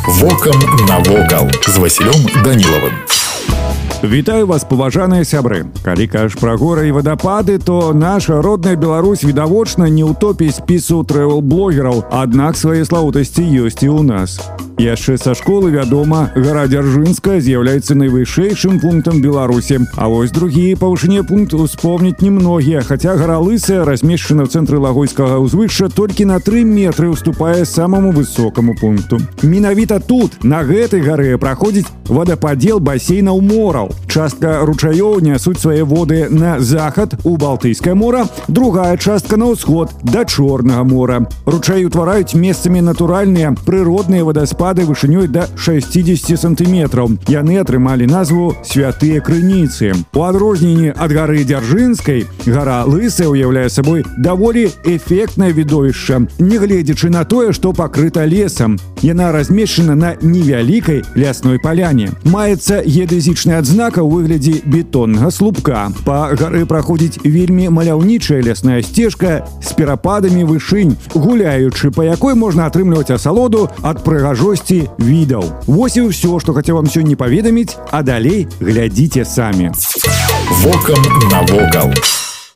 Вокам навокал з Васілём Данілавым. Вітаю вас, паважаныя сябры. Калі кажаш пра горы і вадапады, то наша родная Беларусь відавочна не ў топе спісу трэвел-блогераў, аднак свае славутасці ёсць і ў нас. Яшчэ са школы вядома, гара Дзяржынская з'яўляецца найвышэйшым пунктам Беларусі. А вось другі па вышыні пункт успомніць немногія, хаця гара Лысая, размешчана ў цэнтры Лагойскага ўзвышша, толькі на 3 метры уступае самаму высокаму пункту. Менавіта тут, на гэтай гары, праходзіць вадападзел басейнаў мораў. Частка ручаёў нясуць свае воды на захад у Балтыйскае мора, другая частка на ўсход да Чорнага мора. Ручаі ўтвараюць месцамі натуральныя прыродныя вадаспады вышынёй да 60 сантыметраў. Яны атрымалі назву «Святыя крыніцы». У адрозненні ад гары Дзяржынскай, гара Лысая уяўляе сабой даволі эфектнае відовішча, нягледзячы на тое, што пакрыта лесам. Яна размешчана на невялікай лясной паляне. Маецца геадэзічны адзнака ў выглядзе бетоннага слупка. Па гары праходзіць вельмі маляўнічая лясная сцежка з перападамі вышынь, гуляючы па якой можна атрымліваць асалоду ад прыгажосці відаў. Вось і ўсё, што хацеў вам сёння паведаміць, а далей глядзіце самі. Вокам навокал.